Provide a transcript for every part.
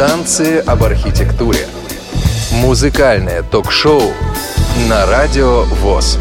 Танцы об архитектуре. Музыкальное ток-шоу на Радио ВОС.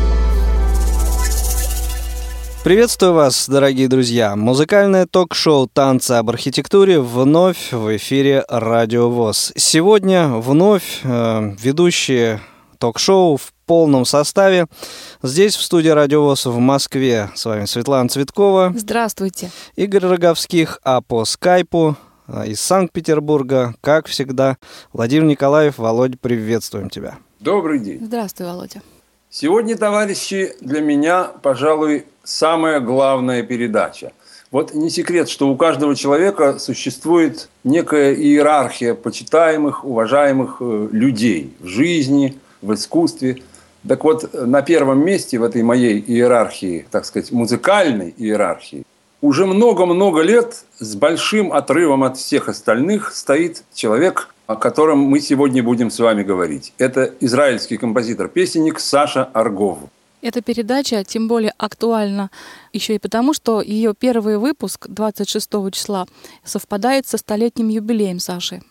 Приветствую вас, дорогие друзья! Музыкальное ток-шоу «Танцы об архитектуре» вновь в эфире Радио ВОС. Сегодня вновь ведущие ток-шоу в полном составе. Здесь, в студии Радио ВОС в Москве, с вами Светлана Цветкова. Здравствуйте. Игорь Роговских, а по скайпу из Санкт-Петербурга, как всегда, Владимир Николаев. Володя, приветствуем тебя. Добрый день. Здравствуй, Володя. Сегодня, товарищи, для меня, пожалуй, самая главная передача. Вот не секрет, что у каждого человека существует некая иерархия почитаемых, уважаемых людей в жизни, в искусстве. Так вот, на первом месте в этой моей иерархии, так сказать, музыкальной иерархии, уже много-много лет с большим отрывом от всех остальных стоит человек, о котором мы сегодня будем с вами говорить. Это израильский композитор-песенник Саша Аргов. Эта передача тем более актуальна еще и потому, что ее первый выпуск 26 числа совпадает со столетним юбилеем Саши.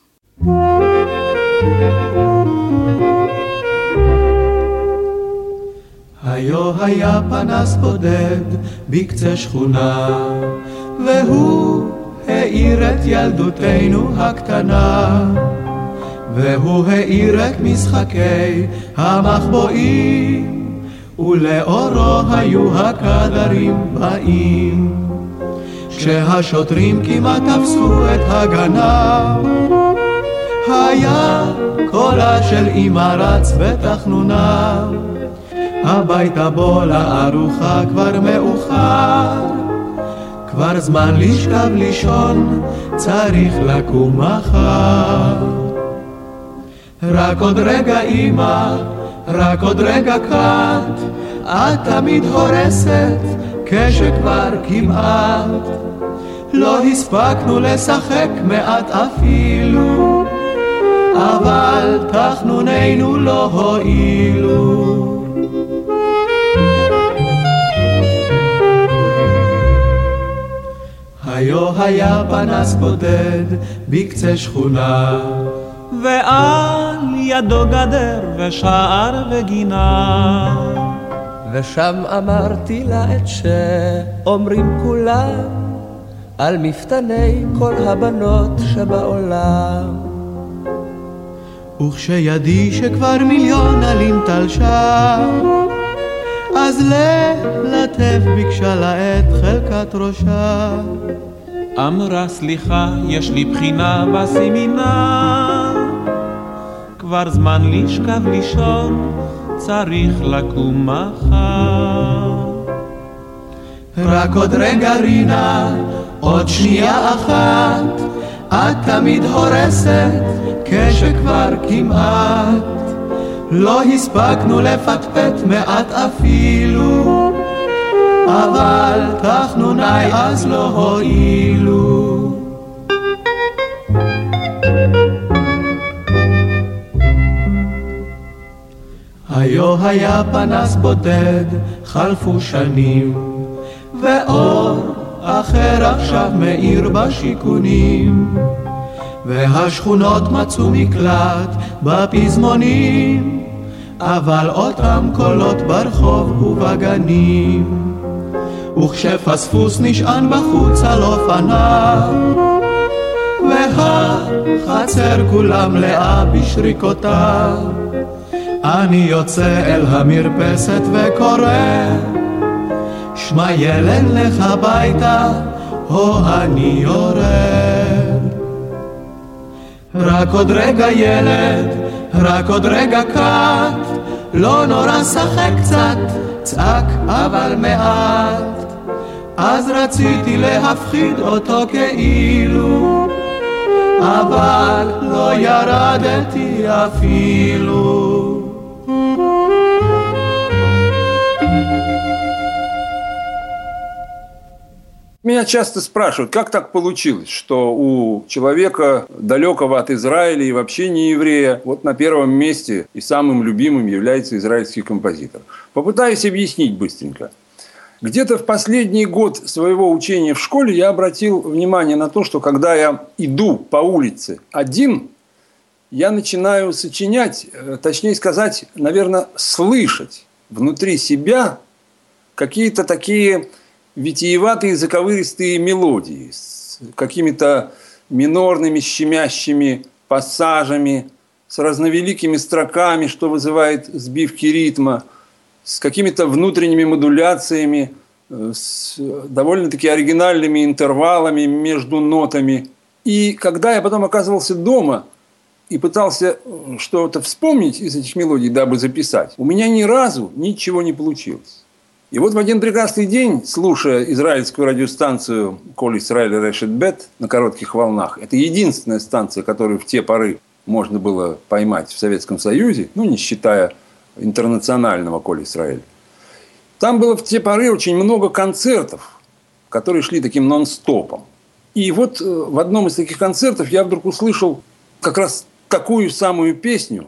היו היה פנס בודד בקצה שכונה והוא האיר את ילדותנו הקטנה והוא האיר את משחקי המחבואים ולאורו היו הכדרים באים כשהשוטרים כמעט תפסו את הגנב היה קולה של אמא רץ בתחנונה הביתה בוא לארוחה כבר מאוחר כבר זמן לשכב לישון צריך לקום מחר רק עוד רגע אמא רק עוד רגע קט את תמיד הורסת כשכבר כמעט לא הספקנו לשחק מעט אפילו אבל תחנוננו לא הועילו היו היה פנס בודד בקצה שכונה ועל ידו גדר ושער וגינה ושם אמרתי לה את שאומרים כולם על מפתני כל הבנות שבעולם וכשידי שכבר מיליון עלים תלשה אז ללטף ביקשה לה את חלקת ראשה אמרה סליחה יש לי בחינה בסמינר כבר זמן לשכב לישון צריך לקום מחר רק עוד רגע רינה עוד שנייה אחת את תמיד הורסת כשכבר כמעט לא הספקנו לפטפט מעט אפילו אבל תחנוני אז לא הועילו היו היה פנס בודד חלפו שנים ואור אחר עכשיו מאיר בשיכונים והשכונות מצאו מקלט בפזמונים אבל אותם קולות ברחוב ובגנים וכשפספוס נשען בחוץ על אופניו והחצר כולם לאה בשריקותיו אני יוצא אל המרפסת וקורא שמע ילד לך הביתה או אני יורד רק עוד רגע ילד רק עוד רגע קט לא נורא שחק קצת צעק אבל מעט אז רציתי להפחיד אותו כאילו אבל לא ירדתי אפילו Меня часто спрашивают, как так получилось, что у человека, далекого от Израиля и вообще не еврея, вот на первом месте и самым любимым является израильский композитор. Попытаюсь объяснить быстренько. Где-то в последний год своего учения в школе я обратил внимание на то, что когда я иду по улице один, я начинаю сочинять, точнее сказать, наверное, слышать внутри себя какие-то такие витиеватые заковыристые мелодии с какими-то минорными щемящими пассажами, с разновеликими строками, что вызывает сбивки ритма, с какими-то внутренними модуляциями, с довольно-таки оригинальными интервалами между нотами. И когда я потом оказывался дома и пытался что-то вспомнить из этих мелодий, дабы записать, у меня ни разу ничего не получилось. И вот в один прекрасный день, слушая израильскую радиостанцию «Коль Исраэль решет бет» на коротких волнах, это единственная станция, которую в те поры можно было поймать в Советском Союзе, не считая интернационального «Коль Исраэль». Там было в те поры очень много концертов, которые шли таким нон-стопом. И вот в одном из таких концертов я вдруг услышал как раз такую самую песню,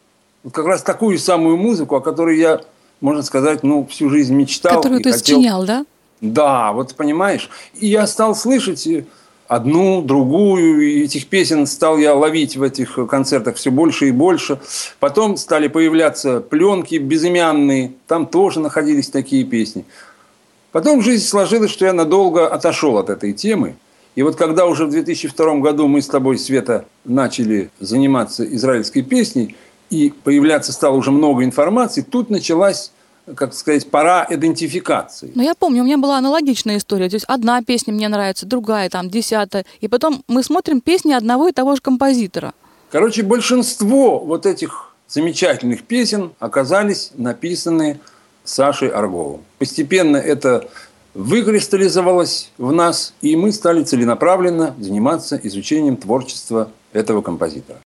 как раз такую самую музыку, о которой я, можно сказать, всю жизнь мечтал. Которую ты сочинял, да? Да, вот понимаешь. И я стал слышать одну, другую, и этих песен стал я ловить в этих концертах все больше и больше. Потом стали появляться пленки безымянные, там тоже находились такие песни. Потом жизнь сложилась, что я надолго отошел от этой темы. И вот когда уже в 2002 году мы с тобой, Света, начали заниматься израильской песней, и появляться стало уже много информации, тут началась, как сказать, пора идентификации. Но я помню, у меня была аналогичная история. То есть одна песня мне нравится, другая, 10-я. И потом мы смотрим песни одного и того же композитора. Короче, большинство вот этих замечательных песен оказались написаны Сашей Арговым. Постепенно это выкристаллизовалось в нас, и мы стали целенаправленно заниматься изучением творчества этого композитора.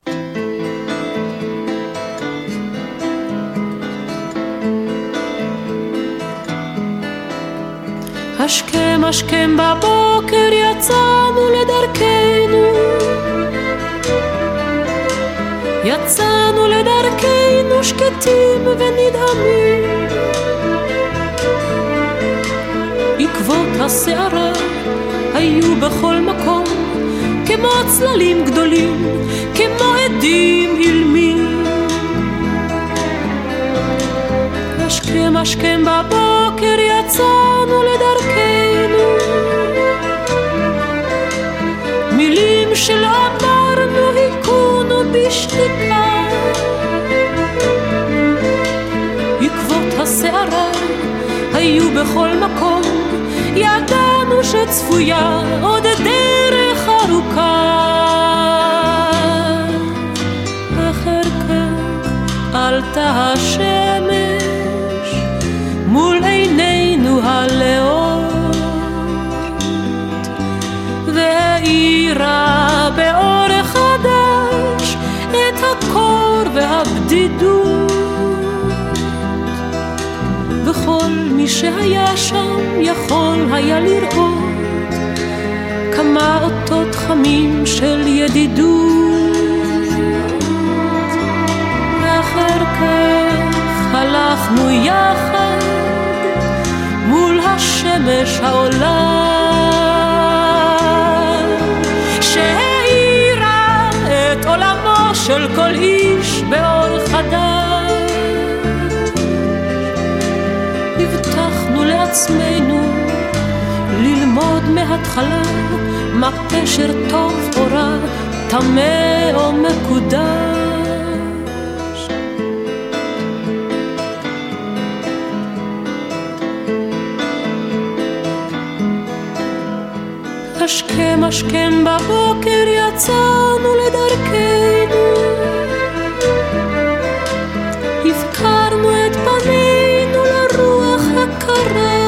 השכם השכם בבוקר יצאנו לדרכנו, יצאנו לדרכנו שקטים ונדהמים, עקבות השערה היו בכל מקום, כמו צללים גדולים, כמו עדים אילמים. השכם השכם בבוקר יצאנו לדרכנו, מילים שלא אמרנו היכונו בשתיקה, עקבות השערה היו בכל מקום, ידענו שצפויה עוד דרך ארוכה. אחר כך עלתה השמש מול עינינו הלאות, והאירה באור חדש את הקור והבדידות, וכל מי שהיה שם יכול היה לראות כמה אותות חמים של ידידות. ואחר כך הלכנו יחד מול השמש העולה, שהאירה את עולמו של כל איש באור חדש. הבטחנו לעצמנו ללמוד מההתחלה מה פשר טוב או רע, טמא או מקודש. השכם השכם בבוקר יצאנו לדרכנו, הפקרנו את פנינו לרוח הקרה,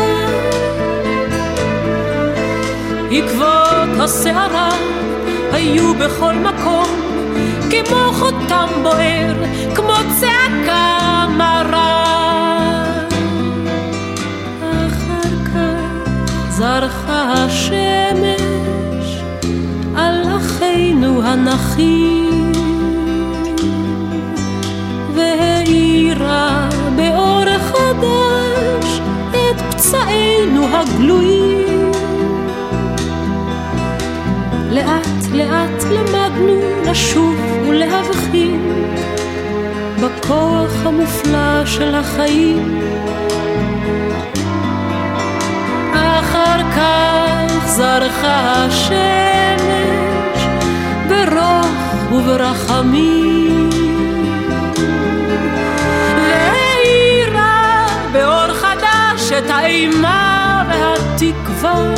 עקבות השערה היו בכל מקום, כמו חותם בוער, כמו צעקה מרה. אחר כך זרחה השמש על אחינו הנחים, והאירה באור חדש את פצעי חיינו הגלויים. לאט לאט למדנו לשוב ולהבחין בכוח המופלא של החיים. אחר כך זרחה השמש ברוך וברחמים, והאירה באור חדש את האימה והתקווה.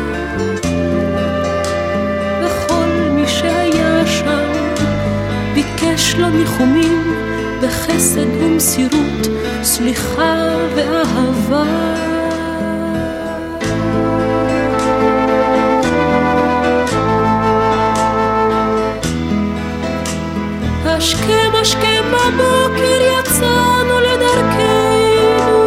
וכל מי שהיה שם ביקש לו ניחומים בחסד ומסירות, סליחה ואהבה. השכם השכם בבוקר יצאנו לדרכנו.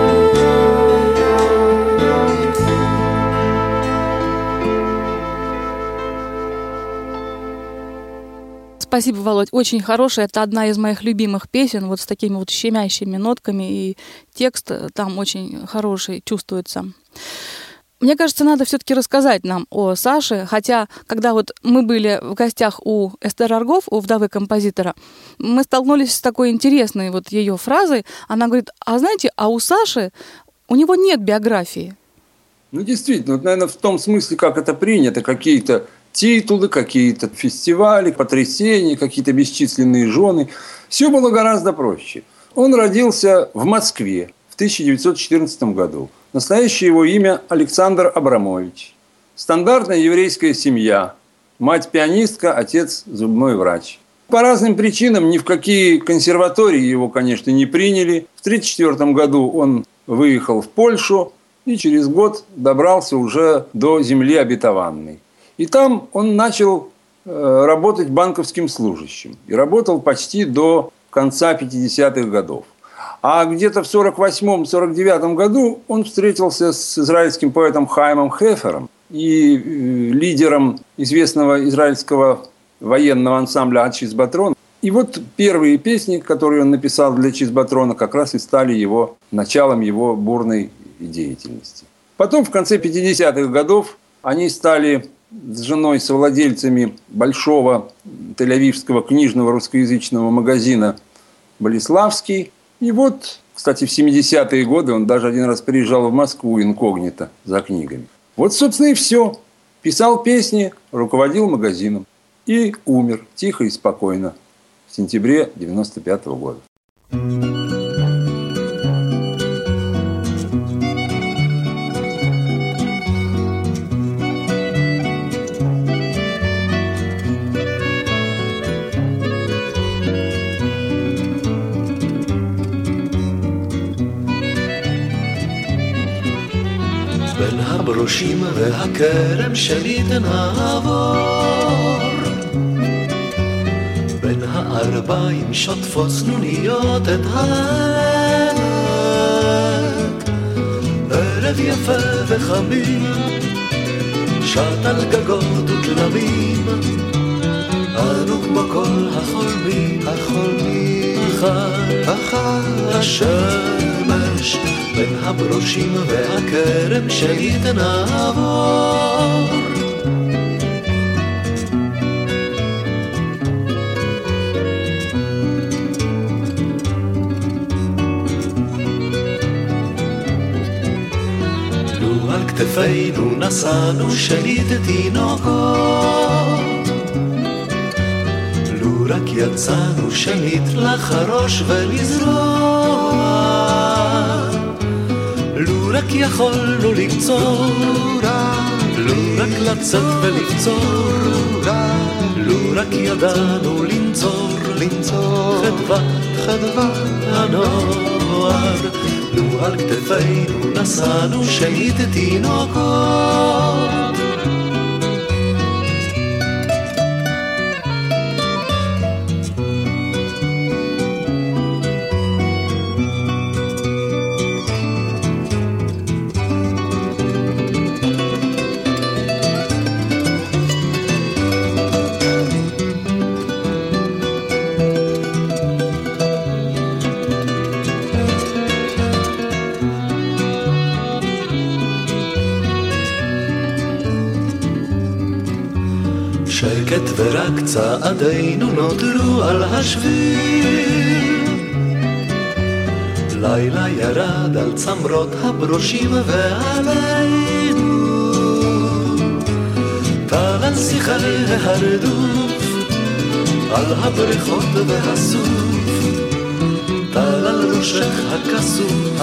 Спасибо, Володь. Очень хорошая. Это одна из моих любимых песен, вот с такими вот щемящими нотками, и текст там очень хороший чувствуется. Мне кажется, надо все-таки рассказать нам о Саше, хотя, когда вот мы были в гостях у Эстер Аргов, у вдовы композитора, мы столкнулись с такой интересной вот ее фразой. Она говорит: а знаете, а у Саши, у него нет биографии. Ну, действительно, вот, наверное, в том смысле, как это принято, какие-то титулы, какие-то фестивали, потрясения, какие-то бесчисленные жены. Все было гораздо проще. Он родился в Москве в 1914 году. Настоящее его имя Александр Абрамович. Стандартная еврейская семья. Мать пианистка, отец зубной врач. По разным причинам ни в какие консерватории его, конечно, не приняли. В 1934 году он выехал в Польшу и через год добрался уже до земли обетованной. И там он начал работать банковским служащим. И работал почти до конца 50-х годов. А где-то в 1948-1949 году он встретился с израильским поэтом Хаимом Хефером и лидером известного израильского военного ансамбля «Ад-Чизбатрон». И вот первые песни, которые он написал для «Чизбатрона», как раз и стали его началом его бурной деятельности. Потом, в конце 50-х годов, они стали с женой совладельцами большого тель-авивского книжного русскоязычного магазина «Болеславский». И вот, кстати, в 70-е годы он даже один раз приезжал в Москву инкогнито за книгами. Вот, собственно, и все. Писал песни, руководил магазином. И умер тихо и спокойно в сентябре 1995 года. בין הברושים והכרם שלי תנעבור, בין הערביים שוטפות סנוניות את העמק, ערב יפה וחמים שט על גגות ותלמים, אנו כמו כל החולמים, אחר השמש בין הברושים והכרם שלי תנעבור. לו על כתפינו נשאנו שליט תינוקות, לו רק יצאנו שנית לחרוש ולזרוע, לו רק יכולנו לקצור, לו רק לצאת ולקצור, לו רק ידענו לנצור חדוות הנוער, לו על כתפינו נשאנו שנית תינוקות. שקט ורק צעדינו נותרו על השביל. לילה ירד על צמרות הברושים ועלינו טל על שיחי ההרדוף, על הבריחות והסוף, טל על ראשך הכסוף,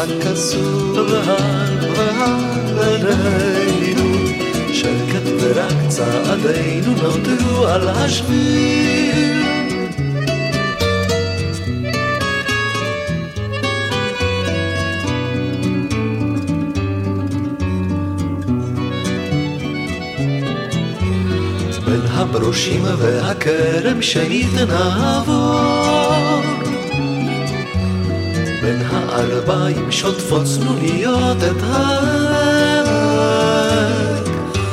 ועלינו שקט ורק צעדינו נותרו על השביל. בין הברושים והכרם שנית נעבור, בין הערביים שוטפות צנוניות את העמק,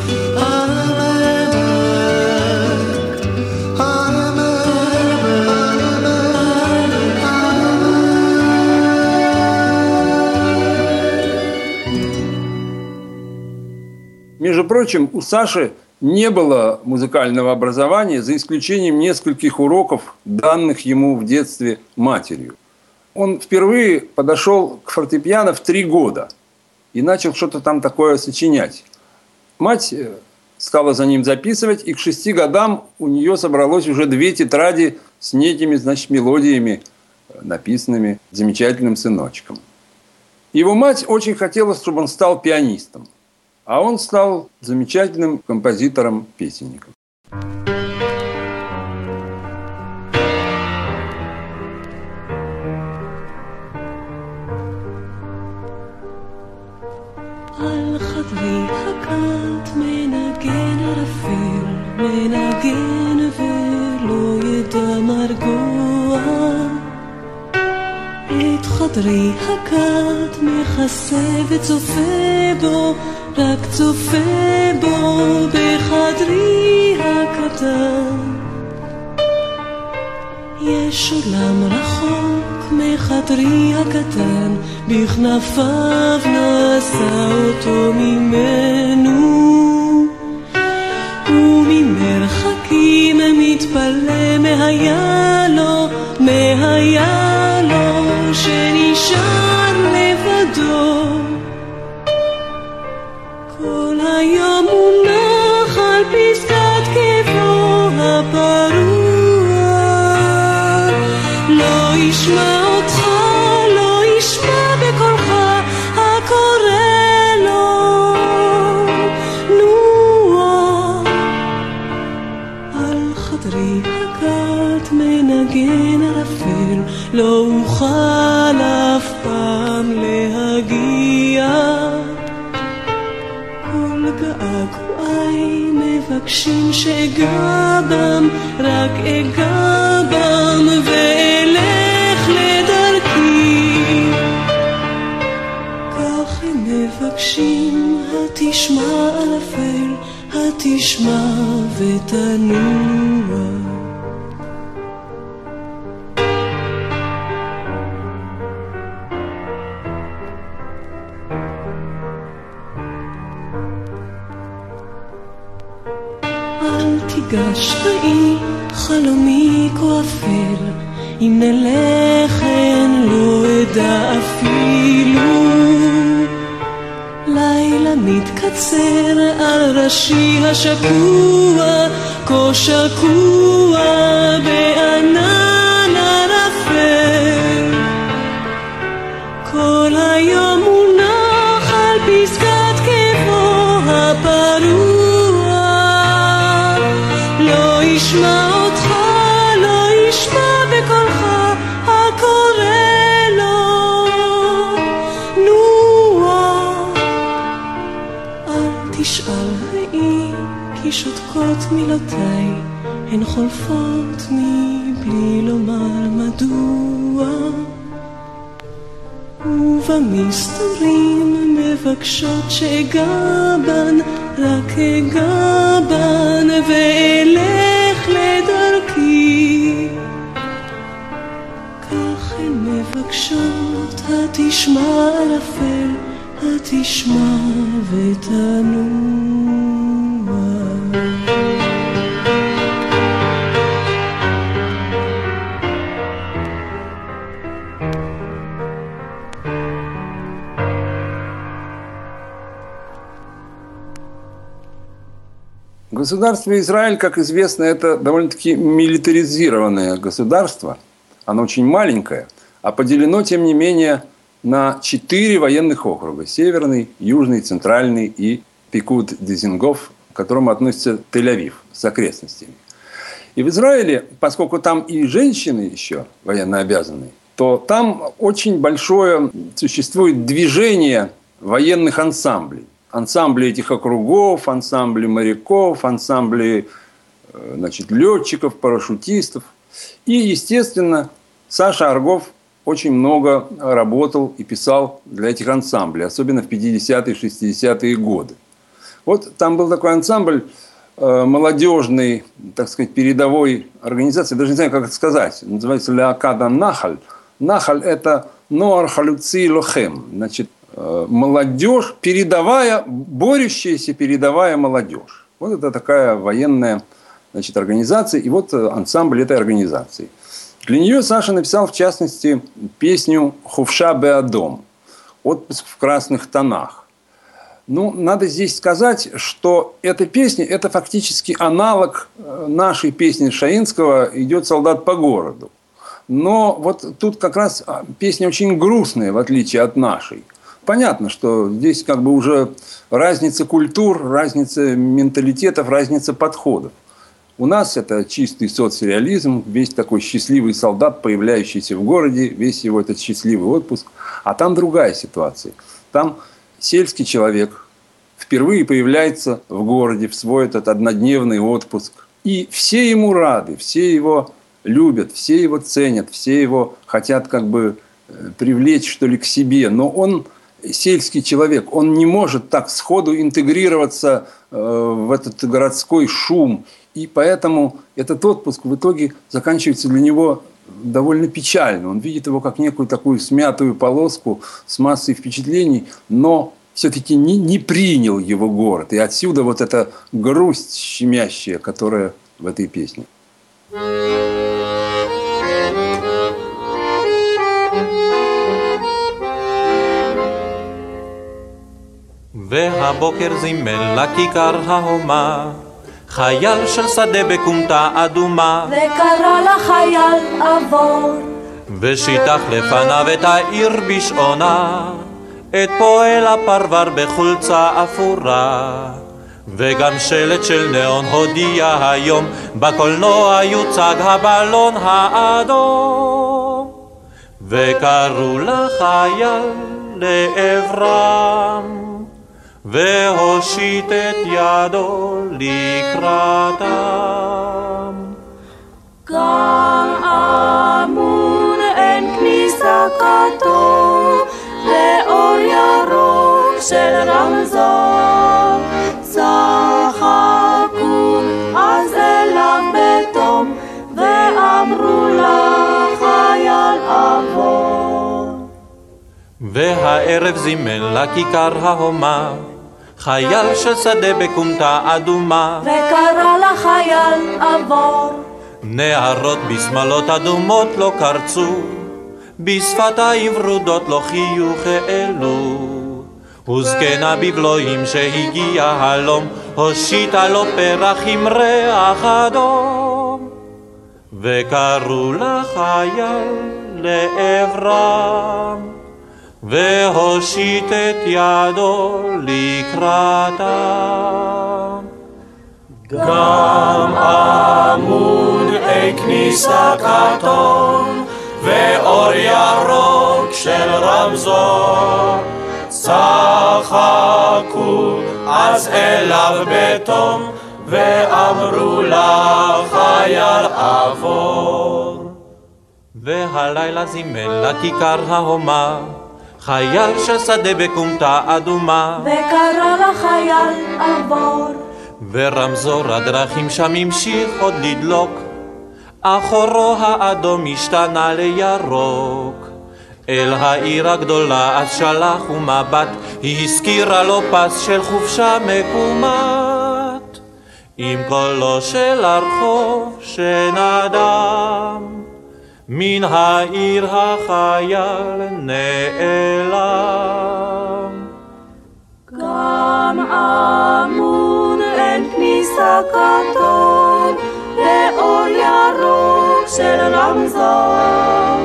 Между прочим, у Саши не было музыкального образования, за исключением нескольких уроков, данных ему в детстве матерью. Он впервые подошел к фортепиано в 3 года и начал что-то там такое сочинять. Мать стала за ним записывать, и к 6 годам у нее собралось уже 2 тетради с некими, мелодиями, написанными замечательным сыночком. Его мать очень хотела, чтобы он стал пианистом. А он стал замечательным композитором-песенником. על חדרי הקט מנגן ערפל, מנגן ולא ידע מרגוע. את חדרי הקט מכסה וצופה בו, רק צופה בו בחדרי הקטן. יש עולם רחוק מחדרי הקטן, בכנפיו נשא אותו ממנו, וממרחקים מתפלא מההיה לו שנשאר לבדו. כל היום מונח על פסקת קברו הפרוע, לא ישמע אותך, לא ישמע בקולך הקורא לו. נוע על חדרי הקט מנגן ערפל, לא אוכל אף פעם להגיע. געגועי מבקשים שאגע בם, רק אגע בם ואלך לדרכי. כך הם מבקשים, התשמע ערפל, התשמע ותנוע. תיגש ראי חלומי כה אפל, אם נלך אין לא אדע אפילו. לילה מתקצר על ראשי השקוע, כה שקוע בענן ערפל. כל היום מונח על פסקת קברו הפרוע, לא ישמע אותך, לא ישמע בקולך הקורא לו. נוע אל תשאל ראי, כי שותקות מילותיי, הן חולפות מבלי לומר מדוע. ובמסתורים מבקשות שאגע בן, רק אגע בן ואלך לדרכי. כך הן מבקשות, התשמע ערפל, התשמע ותנוע. Государство Израиль, как известно, это довольно-таки милитаризированное государство. Оно очень маленькое, а поделено, тем не менее, на 4 военных округа. Северный, Южный, Центральный и Пикуд-Дизингоф, к которому относится Тель-Авив с окрестностями. И в Израиле, поскольку там и женщины еще военнообязанные, то там очень большое существует движение военных ансамблей. Ансамбли этих округов, ансамбли моряков, ансамбли летчиков, парашютистов. И, естественно, Саша Аргов очень много работал и писал для этих ансамблей, особенно в 50-е, 60-е годы. Вот там был такой ансамбль молодежной, так сказать, передовой организации, даже не знаю, как это сказать, называется «Леакада Нахаль». Нахаль – это «Ноар Халюци Лохем», значит, молодежь, передовая, борющаяся передовая молодежь. Вот это такая военная, значит, организация, и вот ансамбль этой организации. Для нее Саша написал, в частности, песню «Хувша Беадом» «Отпуск в красных тонах». Ну, надо здесь сказать, что эта песня – это фактически аналог нашей песни Шаинского «Идет солдат по городу». Но вот тут как раз песня очень грустная, в отличие от нашей. Понятно, что здесь как бы уже разница культур, разница менталитетов, разница подходов. У нас это чистый соцреализм, весь такой счастливый солдат, появляющийся в городе, весь его этот счастливый отпуск. А там другая ситуация. Там сельский человек впервые появляется в городе в свой этот однодневный отпуск. И все ему рады, все его любят, все его ценят, все его хотят как бы привлечь, что ли, к себе. Но он, сельский человек, он не может так сходу интегрироваться в этот городской шум. И поэтому этот отпуск в итоге заканчивается для него довольно печально. Он видит его как некую такую смятую полоску с массой впечатлений, но все-таки не принял его город. И отсюда вот эта грусть щемящая, которая в этой песне. והבוקר זימן לכיכר ההומה חייל של שדה בכומתה אדומה וקרא לחייל עבור ושיטח לפניו את העיר בשעונה את פועל הפרבר בחולצה אפורה וגם שלט של נאון הודיע היום בקולנוע יוצג הבלון האדום וקראו לחייל לעברם והושיט את ידו לקראתם. גם אמון אין כניסה כתוב לאור ירוק של רמזור צחקו אז אליו בתום ואמרו לחייל עבור והערב זימן לכיכר ההומה חייל של שדה בכומתה אדומה וקרא לחייל עבור נערות בשמלות אדומות לא קרצו בשפתיים ורודות לא חיוך העלו וזקנה בבלועים שהגיע הלום הושיטה לו פרח עם ריח אדום וקראו לחייל לעברם והושיט את ידו לקראתם. גם עמוד כניסה כתום ואור ירוק של רמזור צחקו אז אליו בתום ואמרו לחייל עבור והלילה זימן לכיכר ההומה חייל של שדה בכומתה אדומה וקרא לחייל עבור ורמזור הדרכים שם המשיך עוד לדלוק אחורו האדום השתנה לירוק אל העיר הגדולה אז שלח ומבט היא הזכירה לו פס של חופשה מקומת עם קולו של הרחוב שנדם מן העיר החייל נעלם גם אמון אין כניסה כניסה קטון לאור ירוק של רמזור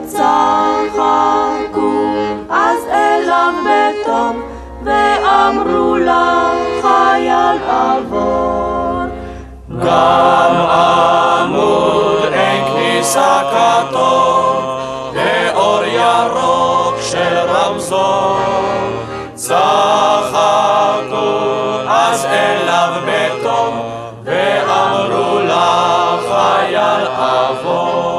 צחקו אז אליו בתום ואמרו לה חייל עבור גם עמוד אין כניסה כתום לאור ירוק של רמזור צחקו אז אליו בתום ואמרו לה חייל עבור.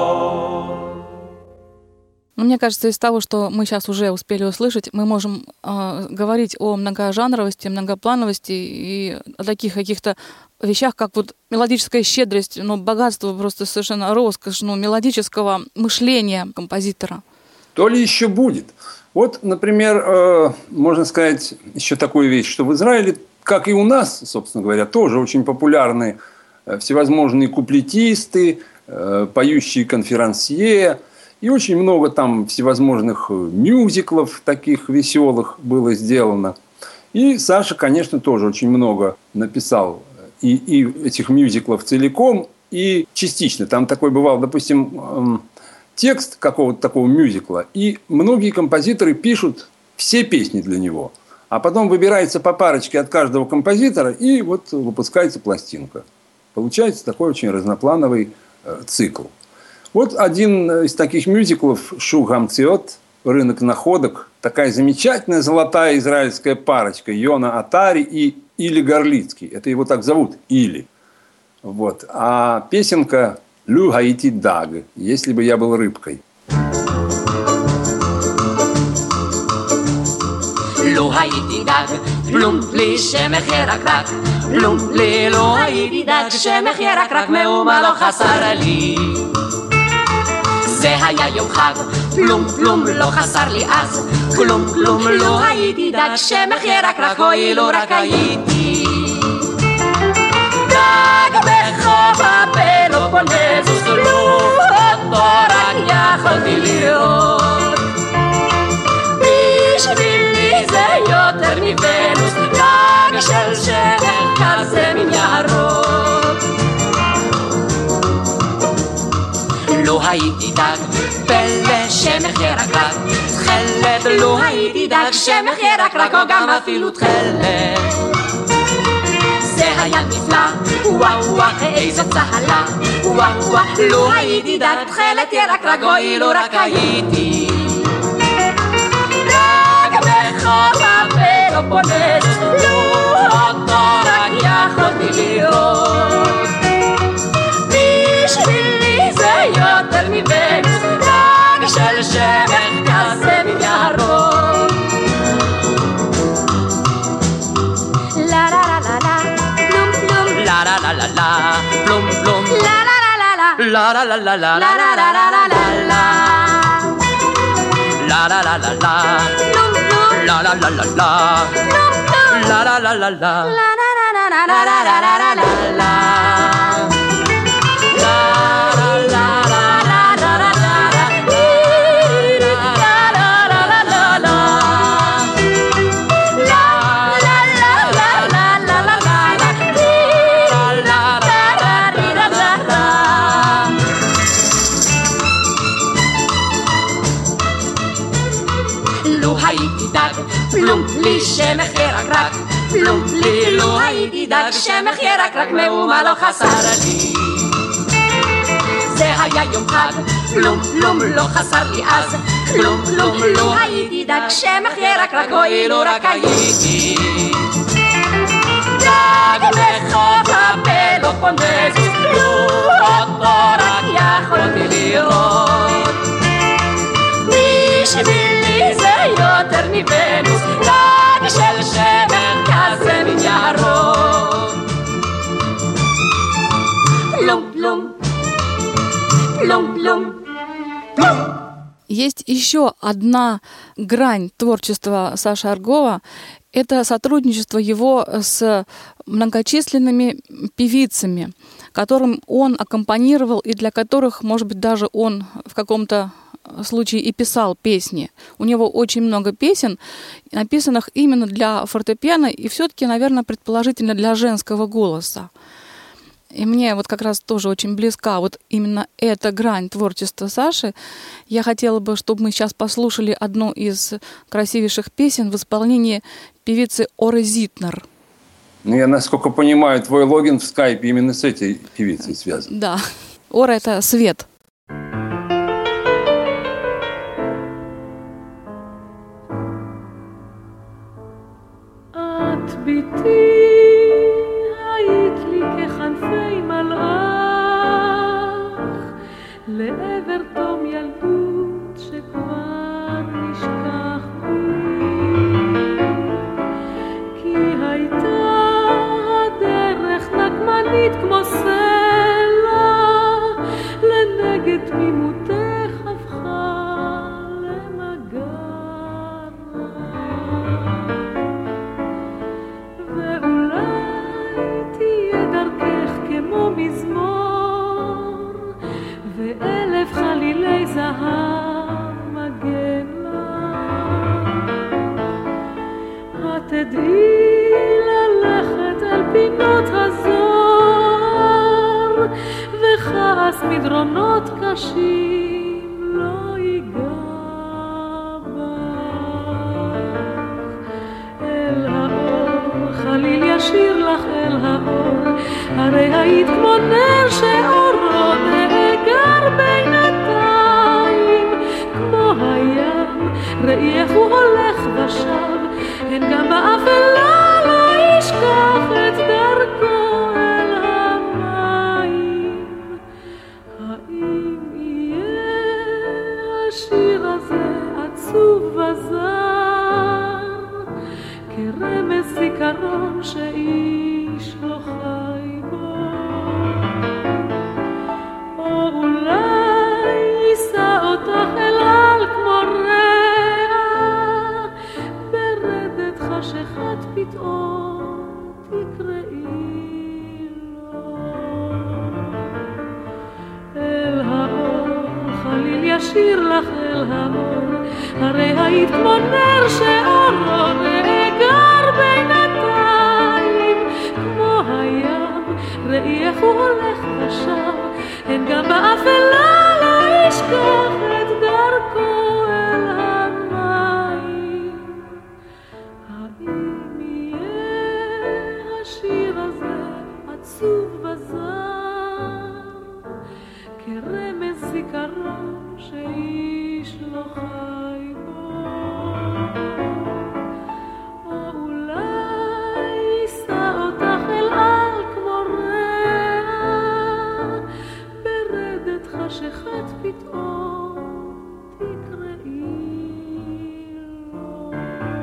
Мне кажется, из того, что мы сейчас уже успели услышать, мы можем говорить о многожанровости, многоплановости и о таких каких-то вещах, как вот мелодическая щедрость, богатство, просто совершенно роскошь, мелодического мышления композитора. То ли еще будет. Вот, например, можно сказать еще такую вещь, что в Израиле, как и у нас, собственно говоря, тоже очень популярны всевозможные куплетисты, поющие конферансье, и очень много там всевозможных мюзиклов таких веселых было сделано. И Саша, конечно, тоже очень много написал и этих мюзиклов целиком, и частично. Там такой бывал, допустим, текст какого-то такого мюзикла, и многие композиторы пишут все песни для него. А потом выбирается по парочке от каждого композитора, и вот выпускается пластинка. Получается такой очень разноплановый цикл. Вот один из таких мюзиклов «Шук Хамциот», «Рынок находок», такая замечательная золотая израильская парочка Йона Атари и Или Горлицкий. Это его так зовут, Или. Вот. А песенка «Лю Хаити Даг», «Если бы я был рыбкой». לו הייתי דג, פלום לי שמח ירקרק, פלום לי לא הייתי דג, שמח ירקרק מאומה לא חסר לי. זה היה יום חג, פלום פלום לא חסר לי אז, כלום כלום לא הייתי דג, שמח ירקרק אוי לא רק הייתי. דג בחוף הפלופונזוס, לו אותו רק יכולתי לראות. בשבילי זה יותר מוונוס, דג של שמח כזה מן ירוק. לא הייתי דג, פלא שמח ירקרק, תכלת לא הייתי דג, שמח ירקרק או גם אפילו תכלת. זה היה נפלא, וואו וואו איזו צהלה, וואו וואו לא הייתי דג, תכלת ירקרק אוי לא רק הייתי. בחוף הפלופונזוס, לו אותו רק יכולתי לראות. בשבילי זה יותר מוונוס, דג של שמח כזה מן ירוק. לה לה לה לה לה, פלום פלום, לה לה לה לה לה, פלום פלום, לה לה לה לה לה, לה לה לה לה לה, לה לה לה לה לה לה. La la la la la, la la la la la, la la la la la, la la la la la la la la. פלום לי שמח ירקרק, פלום לי לא הייתי דג, שמח ירקרק מאומה לא חסר לי. זה היה יום חג, פלום פלום לא חסר לי אז, כלום כלום לא הייתי דג, שמח ירקרק אוי לא רק הייתי. דג בחוף הפלופונזוס, לו אותו רק יכולתי לראות. בשבילי זה יותר מוונוס, דג של שמח כזה מן ירוק. פלום פלום, פלום פלום, פלום. Есть еще одна грань творчества Саши Аргова. Это сотрудничество его с многочисленными певицами, которым он аккомпанировал и для которых, может быть, даже он в каком-то случае и писал песни. У него очень много песен, написанных именно для фортепиано и все-таки, наверное, предположительно для женского голоса. И мне вот как раз тоже очень близка вот именно эта грань творчества Саши. Я хотела бы, чтобы мы сейчас послушали одну из красивейших песен в исполнении певицы Оры Зитнер. Ну, я, насколько понимаю, твой логин в скайпе именно с этой певицей связан. Да. Ора — это свет. לעבר תום ילדות שכבר נשכח בי, כי הייתה הדרך נקמנית כמו סלע, לנגד תמימותך הפכה למגרה, ואולי תהיה דרכך כמו מזמור, ואלף חלילי זהב מגן לה. התדעי ללכת אל פינות הזוהר, וכעס מדרונות קשים לא ייגע בך. אל האור חליל ישיר לך אל האור, הרי היית כמו נר שאורו נאגר בינתיים, כמו הים ראייך הוא הולך ושב, הן גם באפלה לא ישכח את דרכו אל המים. האם יהיה השיר הזה עצוב וזר, כרמז זיכרון שאיש לא חי בו, או אולי יישא אותך אל על כמו רע, ברדת חשכת פתאום תקראי לו. אל האור חליל ישיר לך אל האור, הרי היית כמו נר שאורו נאגר בינתיים, כמו הים ראייך הוא הולך ושב, הן גם באפלה לא ישכח את דרכו אל המים. האם יהיה השיר הזה עצוב וזר, כרמז זיכרון שאיש לא חי בו, או אולי יישא אותך אל על כמו רע, ברדת חשכת פתאום תקראי לו.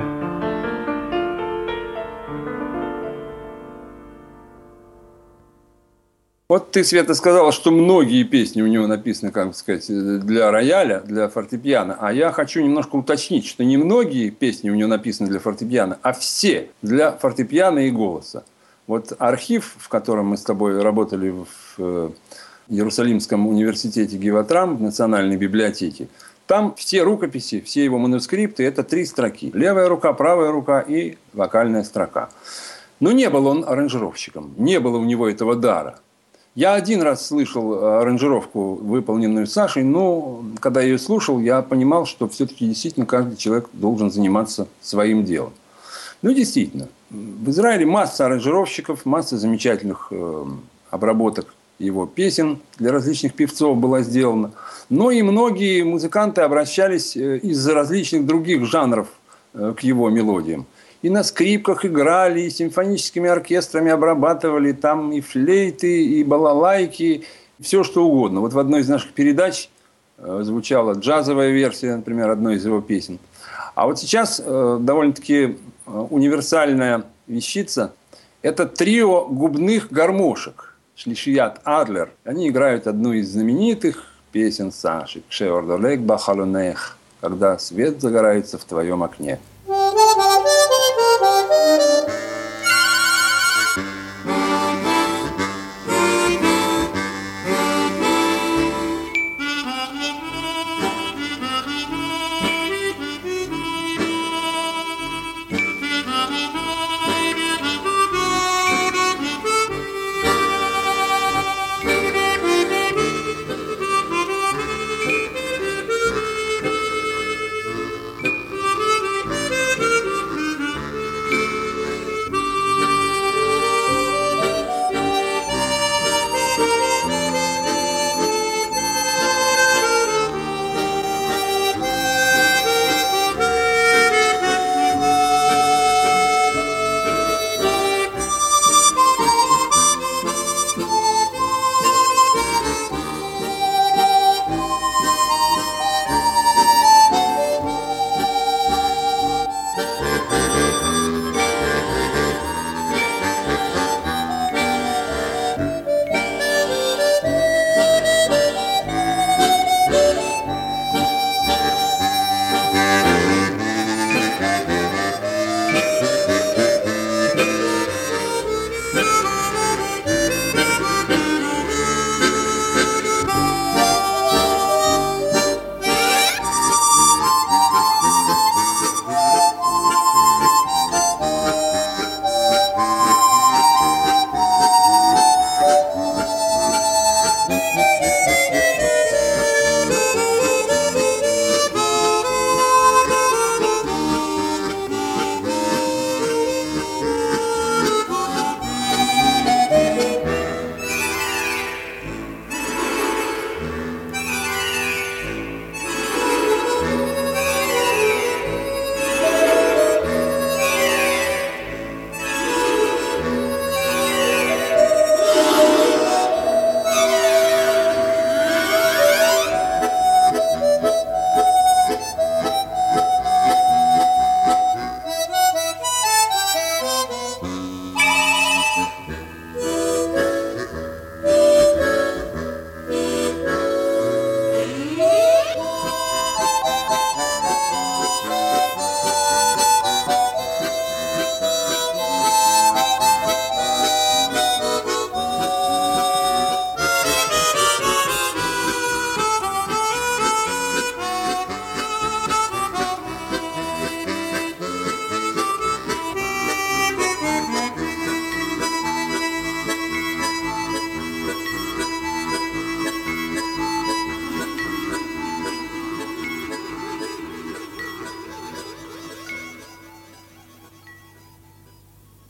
Вот ты, Света, сказала, что многие песни у него написаны, как сказать, для рояля, для фортепиано. А я хочу немножко уточнить, что не многие песни у него написаны для фортепиано, а все для фортепиано и голоса. Вот архив, в котором мы с тобой работали в Иерусалимском университете Гиватрам, в Национальной библиотеке, там все рукописи, все его манускрипты – это 3 строки. Левая рука, правая рука и вокальная строка. Но не был он аранжировщиком, не было у него этого дара. Я один раз слышал аранжировку, выполненную Сашей, но когда я ее слушал, я понимал, что все-таки действительно каждый человек должен заниматься своим делом. Ну, действительно, в Израиле масса аранжировщиков, масса замечательных обработок его песен для различных певцов была сделана. Но и многие музыканты обращались из-за различных других жанров к его мелодиям. И на скрипках играли, и симфоническими оркестрами обрабатывали, там и флейты, и балалайки, все что угодно. Вот в одной из наших передач звучала джазовая версия, например, одной из его песен. А вот сейчас довольно-таки универсальная вещица – это трио губных гармошек «Шлишият Адлер». Они играют одну из знаменитых песен Саши «Кшеордолек бахалонех», когда свет загорается в твоем окне.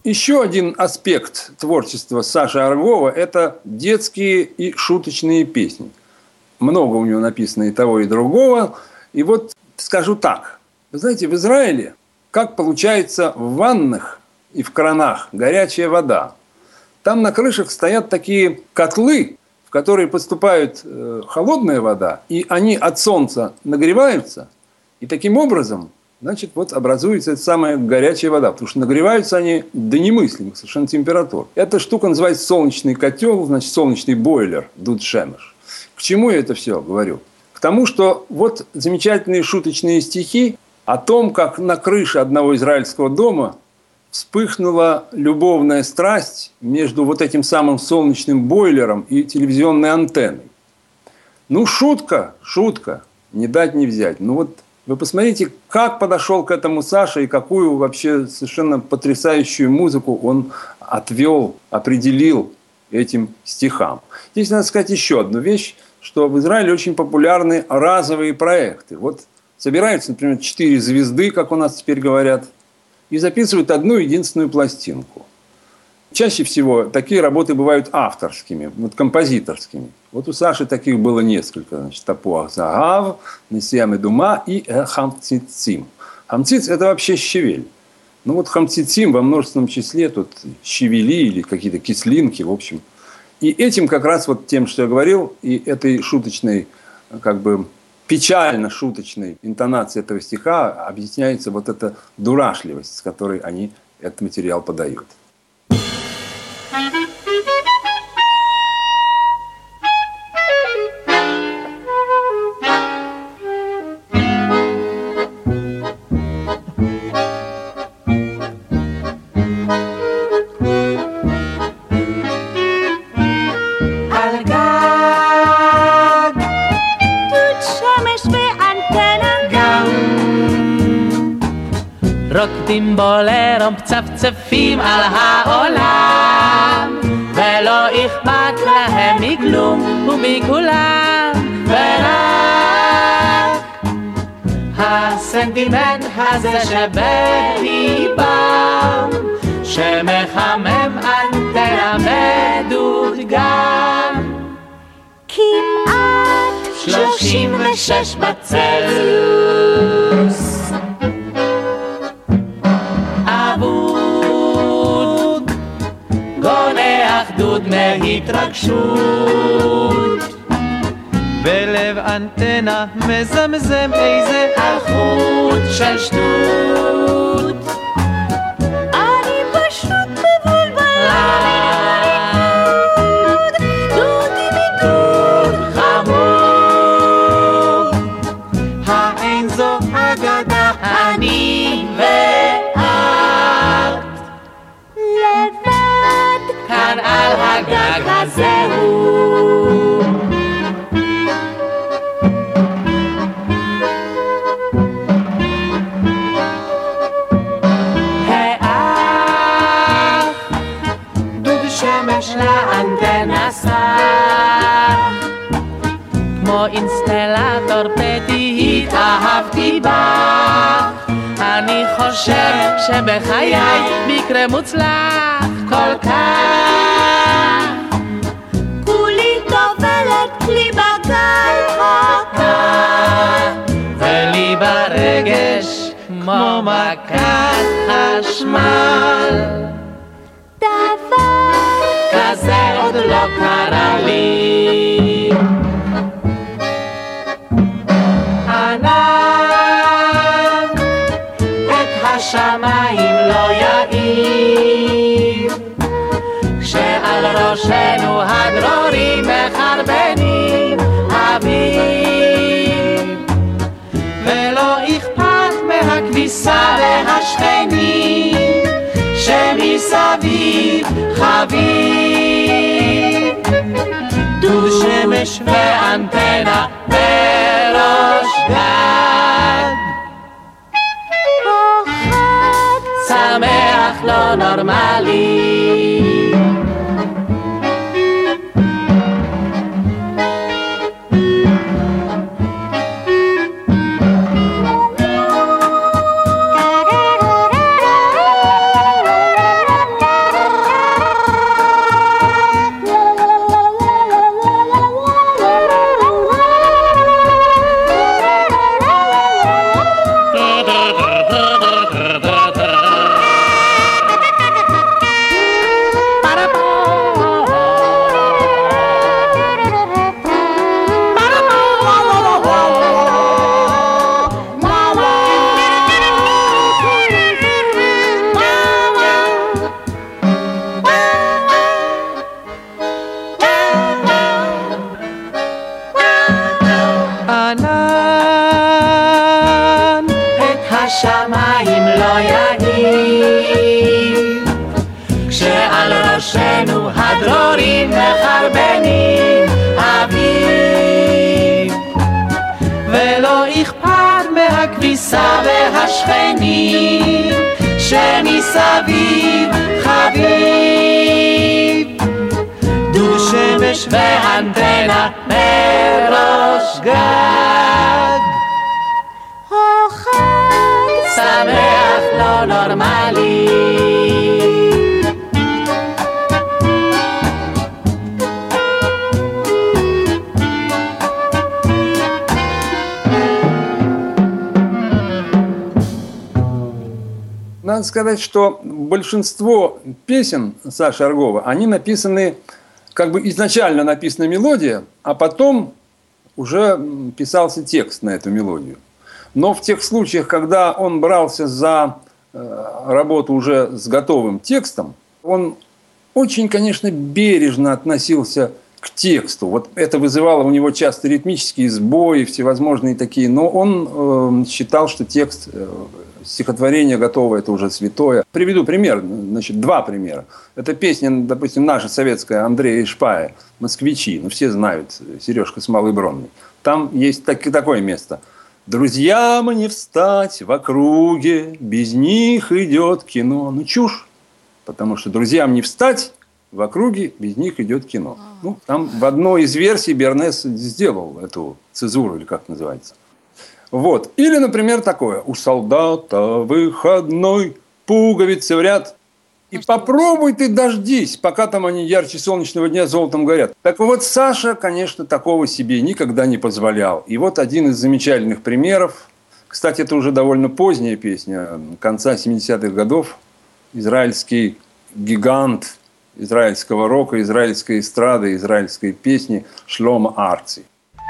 Еще один аспект творчества Саши Аргова – это детские и шуточные песни. Много у него написано и того, и другого. И вот скажу так. Вы знаете, в Израиле, как получается в ваннах и в кранах горячая вода, там на крышах стоят такие котлы, в которые поступает холодная вода, и они от солнца нагреваются, и таким образом, значит, вот образуется эта самая горячая вода, потому что нагреваются они до немыслимых совершенно температур. Эта штука называется солнечный котел, значит, солнечный бойлер, дуд шемеш. К чему я это все говорю? К тому, что вот замечательные шуточные стихи о том, как на крыше одного израильского дома вспыхнула любовная страсть между вот этим самым солнечным бойлером и телевизионной антенной. Ну, шутка, не дать не взять. Ну, вот вы посмотрите, как подошел к этому Саша и какую вообще совершенно потрясающую музыку он отвел, определил этим стихам. Здесь надо сказать еще одну вещь, что в Израиле очень популярны разовые проекты. Вот собираются, например, 4 звезды, как у нас теперь говорят, и записывают одну единственную пластинку. Чаще всего такие работы бывают авторскими, вот композиторскими. Вот у Саши таких было несколько. Значит, «Тапуах загав», «Несия медума» и «Хамцицим». Хамциц – это вообще щавель. Ну вот хамцицим во множественном числе, тут щавели или какие-то кислинки, в общем. И этим как раз вот тем, что я говорил, и этой шуточной, как бы печально-шуточной интонацией этого стиха объясняется вот эта дурашливость, с которой они этот материал подают. רוקדים בולרו מצפצפים על העולם ולא אכפת להם מכלום ומכולם ורק הסנטימנט הזה שבליבם שמחמם אנטנה מדודגם כמעט 36 בצלסיוס גונה אחדות מהתרגשות בלב אנטנה מזמזם איזה אלחוט של שטות אני פשוט מבולבל דודי מדוד חמוד האין זו אגדה אני כאן על הגג הזה הוא האח דוד שמש לאנטנה סך כמו אינסטלטור פתית אהבתי בך אני חושב שבחיי מקרה מוצלח כל כך כולי טובלת לי בגל הקר ולי ברגש כמו מכת חשמל דבר כזה עוד לא קרה לי ענן את השמיים לא יאיר כשעל ראשנו הדרורים מחרבנים אביב ולא אכפת מהכביסה והשכנים שמסביב חביב דוד שמש ואנטנה בראש גג חג שמח לא נורמלי הכביסה והשכנים שמסביב חביב דוד שמש ואנטנה בראש גג חג שמח לא נורמלי Надо сказать, что большинство песен Саши Аргова, они написаны, как бы изначально написана мелодия, а потом уже писался текст на эту мелодию. Но в тех случаях, когда он брался за работу уже с готовым текстом, он очень, конечно, бережно относился к тексту. Вот это вызывало у него часто ритмические сбои, всевозможные такие. Но он считал, что текст, стихотворение готово, это уже святое. Приведу пример, значит, два примера. Это песня, допустим, наша советская Андрея Ишпая «Москвичи». Ну, все знают, Сережка с Малой Бронной. Там есть такое место. «Друзьям не встать в округе, без них идет кино». Ну, чушь, потому что друзьям не встать в округе, без них идет кино. Ну, там в одной из версий Бернес сделал эту цезуру, или как называется. Вот. Или, например, такое. У солдата выходной, пуговицы в ряд. И попробуй ты дождись, пока там они ярче солнечного дня золотом горят. Так вот, Саша, конечно, такого себе никогда не позволял. И вот один из замечательных примеров. Кстати, это уже довольно поздняя песня, конца 70-х годов. Израильский гигант израильского рока, израильской эстрады, израильской песни Шломо Арци.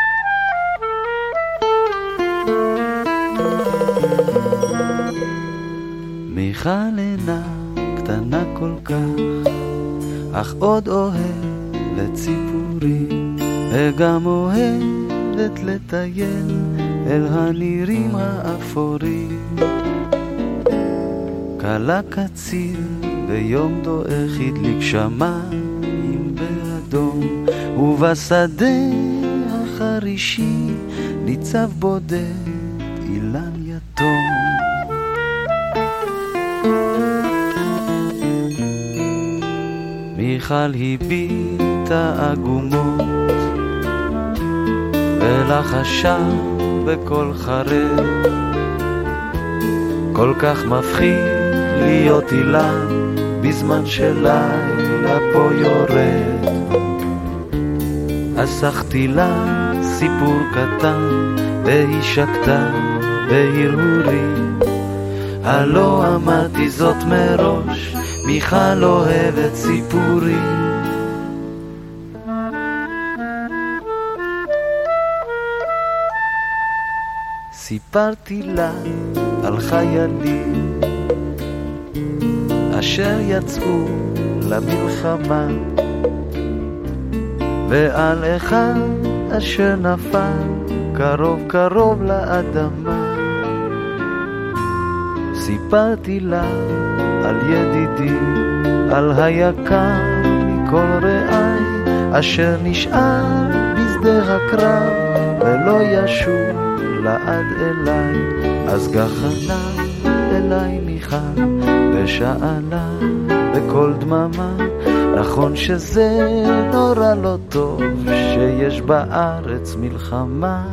מיכל אינה קטנה כל כך, אך עוד אוהבת ציפורים, וגם אוהבת לטייל אל הנירים האפורים. קלה קציר ביום דועך הדליק שמיים באדום, ובשדה החרישי ניצב בודד אילן יתום. מיכל הביטה עגומות ולחשה בקול חרב, כל כך מפחיד להיות אילן בזמן שלילה פה יורד. אסחתי לה סיפור קטן והיא שקטה בהרהורים, הלא אמרתי זאת מראש, מיכל אוהבת סיפורים. סיפרתי לה על חיילים אשר יצאו למלחמה, ועל אחד אשר נפל קרוב קרוב לאדמה. סיפרתי לה על ידידי, על היקר מכל רעי, אשר נשאר בשדה הקרב ולא ישוב לעד אליי. אז גחנה אליי מיכל ושאלה בכל דממה, נכון שזה נורא לא טוב שיש בארץ מלחמה.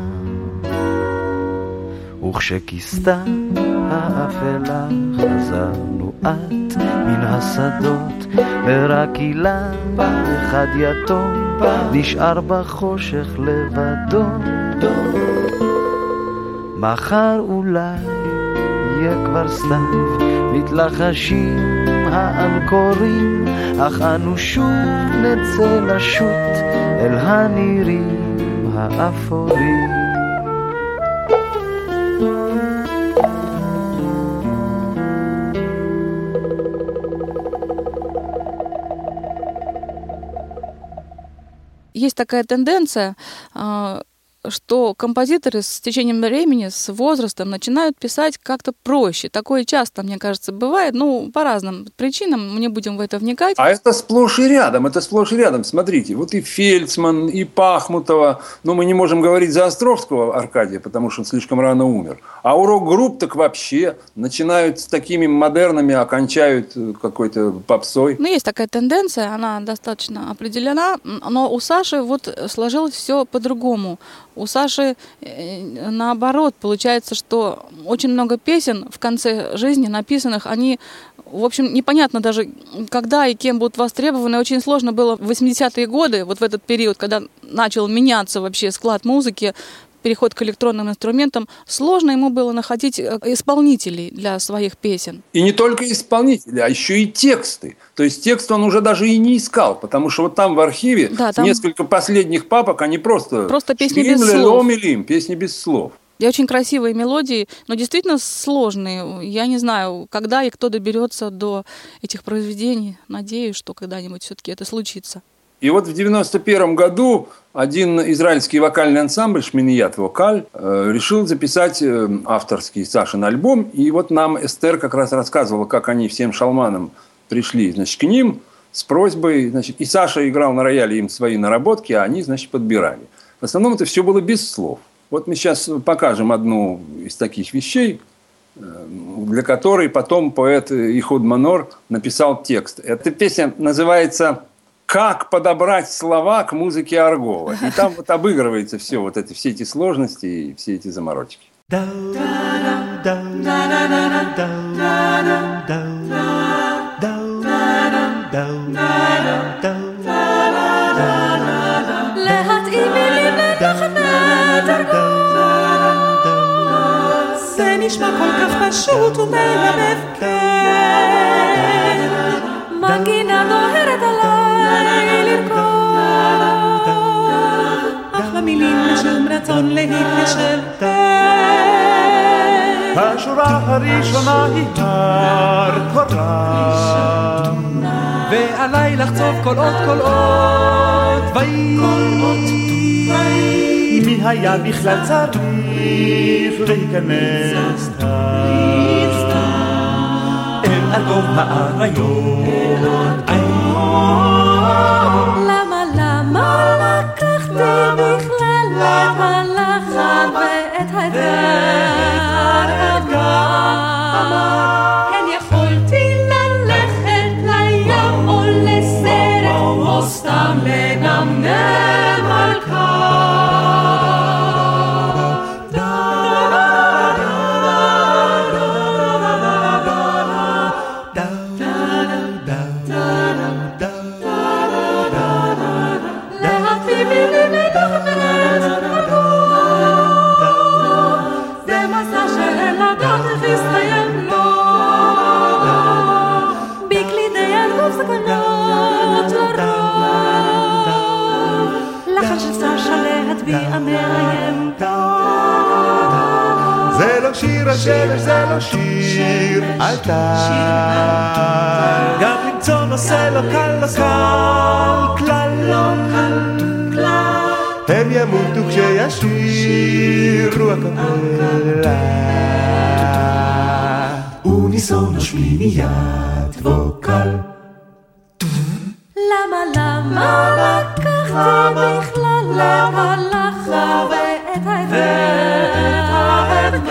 וכשכיסתה האפלה חזרנו את מן השדות, ורק אילן אחד יתום נשאר בחושך לבדו. מחר אולי יהיה כבר סתיו, מתלחשים האנקורים, אך אנו שוב נצא לשוט אל הנירים האפורים. Есть такая тенденция что композиторы с течением времени, с возрастом начинают писать как-то проще. Такое часто, мне кажется, бывает, по разным причинам, мы не будем в это вникать. А это сплошь и рядом, Смотрите, вот и Фельдсман, и Пахмутова, мы не можем говорить за Островского Аркадия, потому что он слишком рано умер. А у рок-групп так вообще начинают с такими модернами, окончают какой-то попсой. Есть такая тенденция, она достаточно определена, но у Саши сложилось все по-другому. У Саши наоборот, получается, что очень много песен в конце жизни написанных, они, в общем, непонятно даже, когда и кем будут востребованы. Очень сложно было в 80-е годы, в этот период, когда начал меняться вообще склад музыки, переход к электронным инструментам, сложно ему было находить исполнителей для своих песен. И не только исполнителей, а еще и тексты. То есть текст он уже даже и не искал, потому что там в архиве несколько последних папок, они просто песни без слов. Песни без слов. И очень красивые мелодии, но действительно сложные. Я не знаю, когда и кто доберется до этих произведений. Надеюсь, что когда-нибудь все-таки это случится. И в 91 году один израильский вокальный ансамбль «Шминият Вокаль» решил записать авторский Сашин альбом. И нам Эстер как раз рассказывала, как они всем шалманам пришли, к ним с просьбой. И Саша играл на рояле им свои наработки, а они, подбирали. В основном это все было без слов. Мы сейчас покажем одну из таких вещей, для которой потом поэт Ихуд Манор написал текст. Эта песня называется «Как подобрать слова к музыке Аргова». И там обыгрывается все эти сложности и все эти заморочки. זה נשמע כל כך פשוט ומלבב, כן, מנגינה דוהרת עליי לרכוב, אך במילים לשום רצון להתיישב, השורה הראשונה היא הר קורה, ועליי לחצוב כל עוד מי היה בכלל צריך להיכנס אל אגוב האריות. למה לקחתי בכלל את הלחן ואת האתגר? כן יכולתי ללכת לים או לסרט או סתם לנמנם על כך. זה לא שיר השמש, זה לא שיר על טל, גם למצוא נושא לא קל, כלל לא קל, הם ימותו כשישירו הקפלה וניסון השמיניית ווקל. למה לקחתי בכלל להלכה ואת האתגר?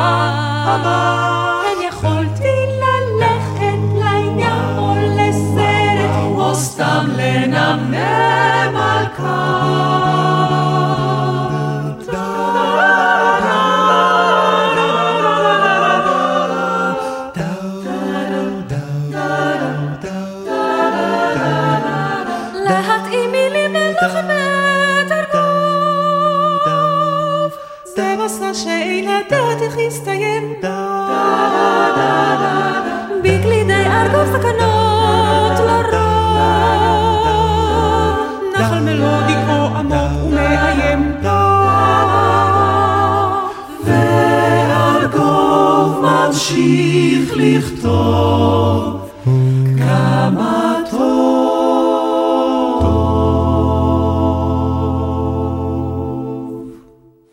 כן יכולתי ללכת לים או לסרט או סתם לנמנם על להתאים מילים ללחמת ארגוב, זה מסע שאין לדעת איך יסתיים, בגלידי ארגוב סכנות לרוב, נחל מלודי כה עמוק ומאיים, וארגוב ממשיך לכתוב כמה טוב.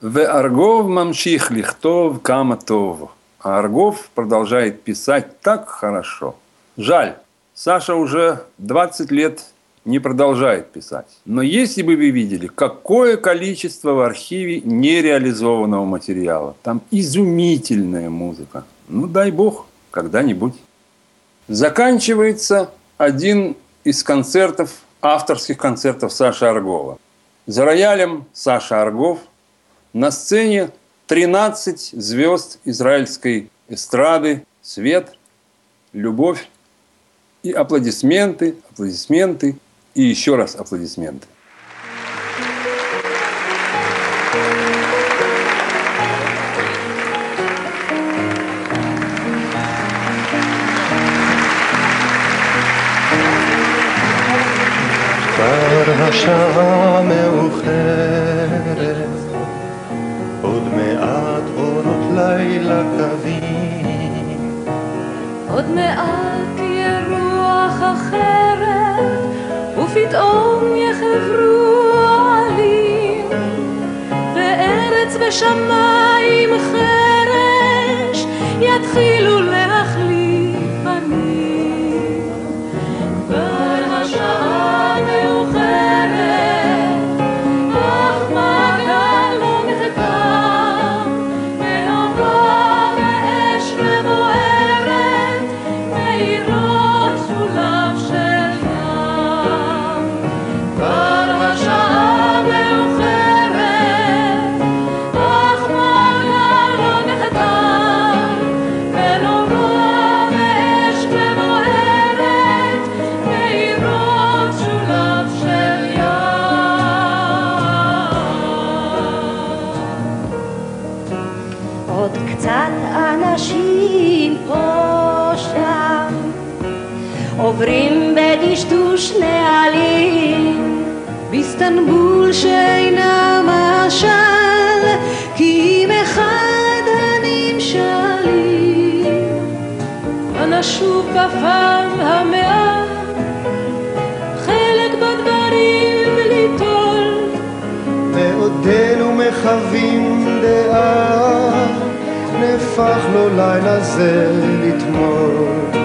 Аргов мамших лихтов кама тов. А Аргов продолжает писать так хорошо. Жаль, Саша уже 20 лет не продолжает писать. Но если бы вы видели, какое количество в архиве нереализованного материала. Там изумительная музыка. Ну, дай бог, когда-нибудь. Заканчивается один из концертов, авторских концертов Саши Аргова. За роялем Саша Аргов. На сцене 13 звезд израильской эстрады. Свет, любовь и аплодисменты, аплодисменты и еще раз аплодисменты. כבר השעה מאוחרת, עוד מעט אורות לילה קווים, עוד מעט תהיה רוח אחרת, ופתאום יחברו עלים, וארץ ושמיים חרש יתחילו להחליף פנים. כבר השעה מאוחרת, אך מגל לא נחתם, מאורה ואש מבוערת, מאירות סולב של ים. כבר השעה מאוחרת, אך מגל לא נחתם, מאורה ואש מבוערת, מאירות סולב של ים. עוד קצת אנשים פה שם עוברים בדשדוש נעלים באיסטנבול שאינה משל כי אם אחד הנמשלים נשוב בפעם המאה חלק בדברים ליטול ועודנו מחווים דעה, נהפך לו לילה זה לתמול.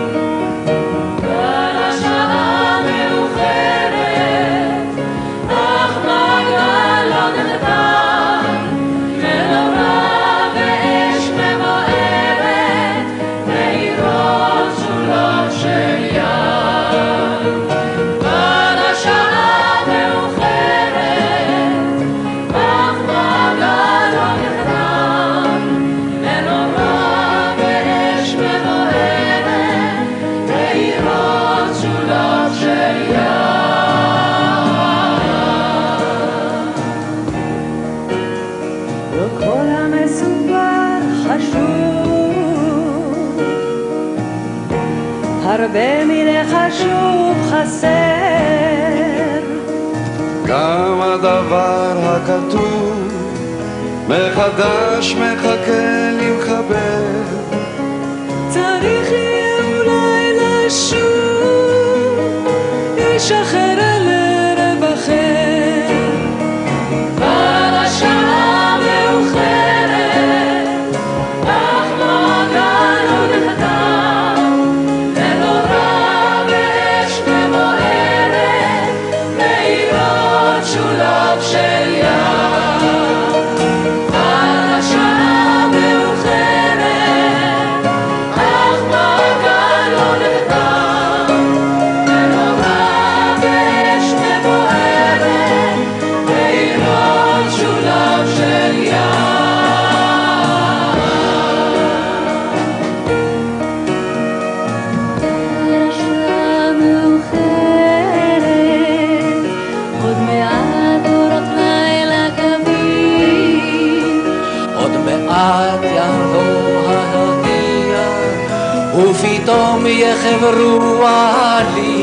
כבר השעה מאוחרת, אך מגל לא נחתם, מאורה ואש מבוערת, מאירות סוללות של ים. כבר השעה מאוחרת, אך מגל לא נחתם, מאורה ואש מבוערת, מאירות סוללות של ים. לא כל המסובך חשוב, הרבה מן החשוב חסר. גם הדבר הכתוב מחדש מחכה למחבר. צריך יהיה אולי לשוב, איש אחר אל ערב אחר. כבר השעה מאוחרת, אך מגל לא נחתם, מאורה ואש מבוערת, מאירות סולב של ים. כבר השעה מאוחרת, אך מגל לא נחתם, מאורה ואש מבוערת, מאירות סולב של ים. השעה מאוחרת, עוד מעט אורות לילה קווים, עוד מעט יבוא הרקיע, ופתאום יחברו עלים,